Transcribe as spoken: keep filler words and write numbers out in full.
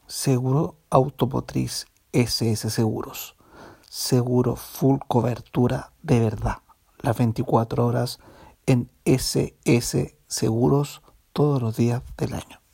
Seguro Automotriz S S Seguros. Seguro full cobertura de verdad. Las veinticuatro horas en S S Seguros todos los días del año.